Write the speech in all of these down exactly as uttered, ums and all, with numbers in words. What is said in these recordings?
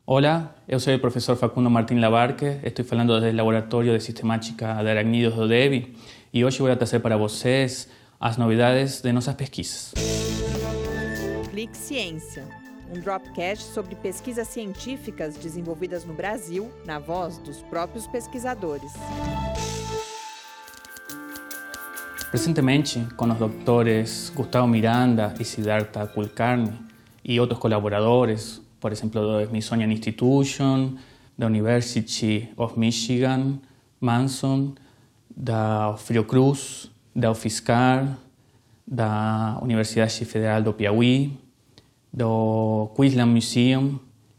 Olá, eu sou o professor Facundo Martín Labarque, estou falando desde o Laboratório de Sistemática de Aracnídeos do D E B e hoje vou trazer para vocês as novidades de nossas pesquisas. Clique Ciência, um dropcast sobre pesquisas científicas desenvolvidas no Brasil, na voz dos próprios pesquisadores. Recentemente, com os doutores Gustavo Miranda e Siddhartha Kulkarni e outros colaboradores, por exemplo, do Smithsonian Institution, da University of Michigan, Manson, da Fiocruz, da UFSCar, da Universidade Federal do Piauí, do Queensland Museum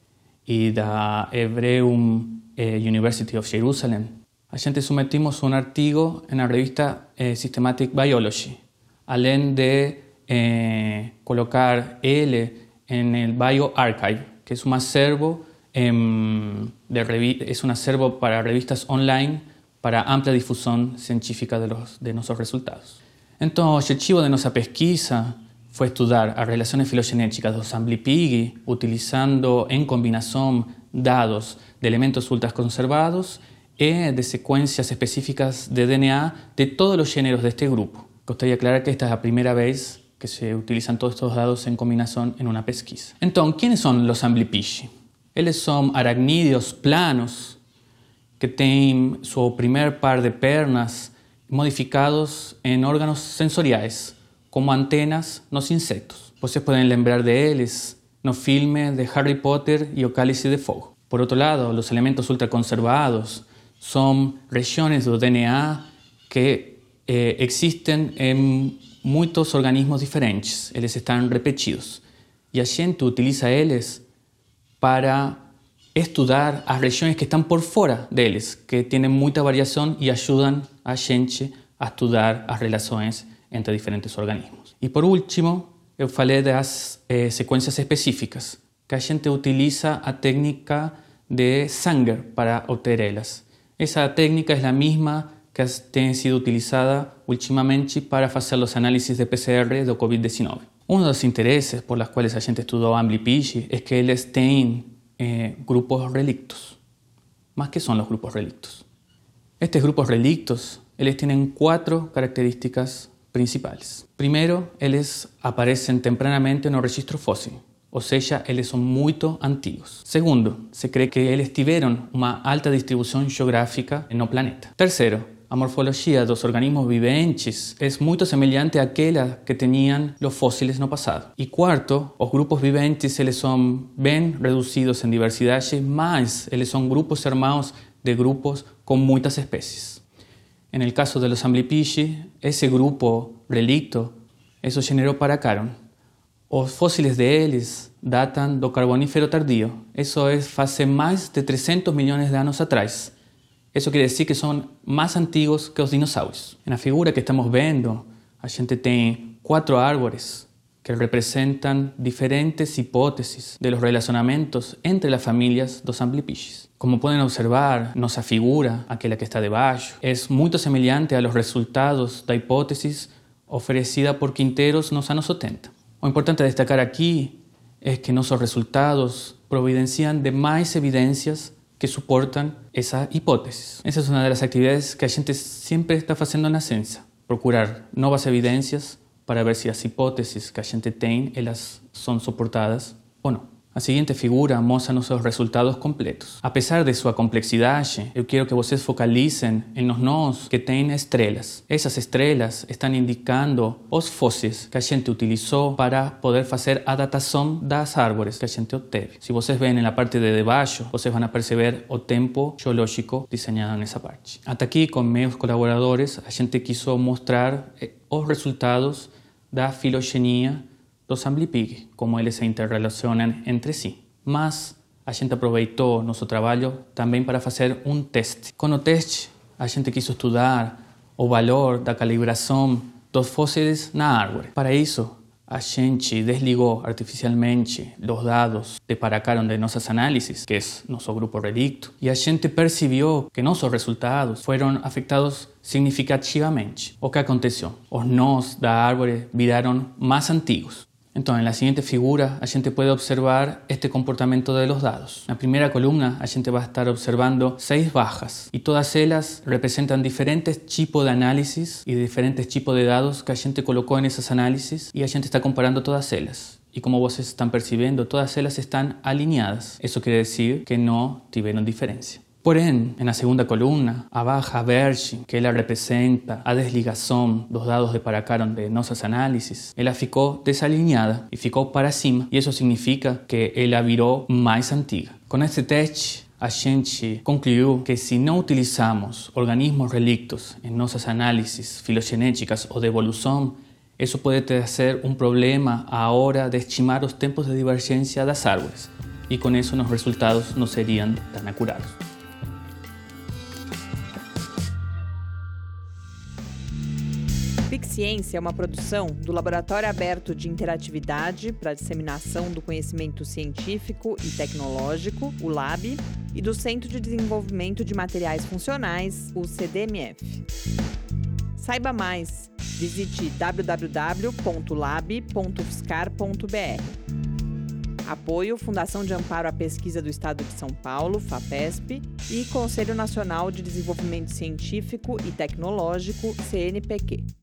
e da Hebrew University of Jerusalem. A gente submetimos um artigo na revista eh, Systematic Biology, além de eh, colocar ele en el bioRxiv, que es un acervo, eh, de revi- es un acervo para revistas online para ampla difusión científica de, los, de nuestros resultados. Então, o objetivo de nossa pesquisa foi estudar as relações filogenéticas dos Amblipigi utilizando em combinação dados de elementos ultraconservados e de sequências específicas de D N A de todos os gêneros deste grupo. Gostaria de aclarar que esta es a primeira vez que se utilizan todos estos dados en combinación en una pesquisa. Entonces, ¿quiénes son los Amblipigi? Eles son aracnídeos planos que tienen su primer par de pernas modificados en órganos sensoriales, como antenas nos insectos. Vocês pueden lembrar de eles no filme de Harry Potter y o Cálice de Fogo. Por otro lado, los elementos ultraconservados son regiones do D N A que eh, existen en muitos organismos diferentes, eles estão repetidos. E a gente utiliza eles para estudar as regiões que estão por fora deles, que têm muita variação e ajudam a gente a estudar as relações entre diferentes organismos. E por último, eu falei das eh, sequências específicas, que a gente utiliza a técnica de Sanger para obter elas. Essa técnica é a mesma que tem sido utilizada ultimamente para fazer os análises de P C R do covid diecinueve. Um dos interesses por los quais a gente estudou Amblipigi é que eles têm eh, grupos relictos. Mas que são os grupos relictos? Estes grupos relictos eles têm quatro características principais. Primeiro, eles aparecem tempranamente no registro fóssil, ou seja, eles são muito antigos. Segundo, se crê que eles tiveram uma alta distribuição geográfica no planeta. Terceiro, a morfologia dos organismos viventes é muito semelhante àquela que tinham os fósiles no passado. E quarto, os grupos viventes eles são bem reduzidos em diversidade, mas eles são grupos irmãos de grupos com muitas espécies. En el caso de los Amblipigi, esse grupo relicto, isso generou Paracaron. Os fósiles deles datam do Carbonífero tardío. Isso é faz mais de trezentos milhões de anos atrás. Isso quer dizer que são mais antigos que os dinossauros. Na figura que estamos vendo, a gente tem quatro árvores que representam diferentes hipóteses de los relacionamentos entre as famílias dos Amblipigis. Como podem observar, nossa figura, aquela que está debaixo, é muito semelhante a los resultados da hipótese oferecida por Quinteros nos anos setenta. O importante a destacar aqui é que nossos resultados providenciam de mais evidências que suportam essa hipótese. Essa é uma das atividades que a gente sempre está fazendo na ciência, procurar novas evidências para ver se as hipóteses que a gente tem, elas são suportadas ou não. A seguinte figura mostra nossos resultados completos. Apesar de sua complexidade, eu quero que vocês focalizem em nos nós que têm estrelas. Essas estrelas estão indicando os fósseis que a gente utilizou para poder fazer a datação das árvores que a gente obteve. Se vocês veem na parte de debaixo, vocês vão perceber o tempo geológico desenhado nessa parte. Até aqui, com meus colaboradores, a gente quis mostrar os resultados da filogenia dos Amblipigi, como eles se interrelacionam entre si. Mas a gente aproveitou nosso trabalho também para fazer um teste. Com o teste, a gente quis estudar o valor da calibração dos fósseis na árvore. Para isso, a gente desligou artificialmente os dados de Paracaron de nossas análises, que é nosso grupo relicto, e a gente percebeu que nossos resultados foram afetados significativamente. O que aconteceu? Os nós da árvore viraram mais antigos. Então, na seguinte figura, a gente pode observar este comportamento de los dados. Na primeira coluna, a gente vai estar observando seis barras e todas elas representam diferentes tipos de análisis e diferentes tipos de dados que a gente colocou nessas análises e a gente está comparando todas elas. E como vocês estão percebendo, todas elas estão alinhadas. Isso quer dizer que não tiveram diferença. Porém, na segunda coluna, a barra verde, que ela representa a desligação dos dados de Paracaron de nossas análises, ela ficou desalinhada e ficou para cima. E isso significa que ela virou mais antiga. Com este teste, a gente concluiu que se não utilizamos organismos relictos em nossas análises filogenéticas ou de evolução, isso pode trazer um problema à hora de estimar os tempos de divergência das árvores. E com isso, os resultados não seriam tão acurados. PicCiência é uma produção do Laboratório Aberto de Interatividade para a Disseminação do Conhecimento Científico e Tecnológico, o LAB, e do Centro de Desenvolvimento de Materiais Funcionais, o C D M F. Saiba mais, visite w w w ponto lab ponto fiscar ponto b r. Apoio Fundação de Amparo à Pesquisa do Estado de São Paulo, FAPESP, e Conselho Nacional de Desenvolvimento Científico e Tecnológico, C N Pq.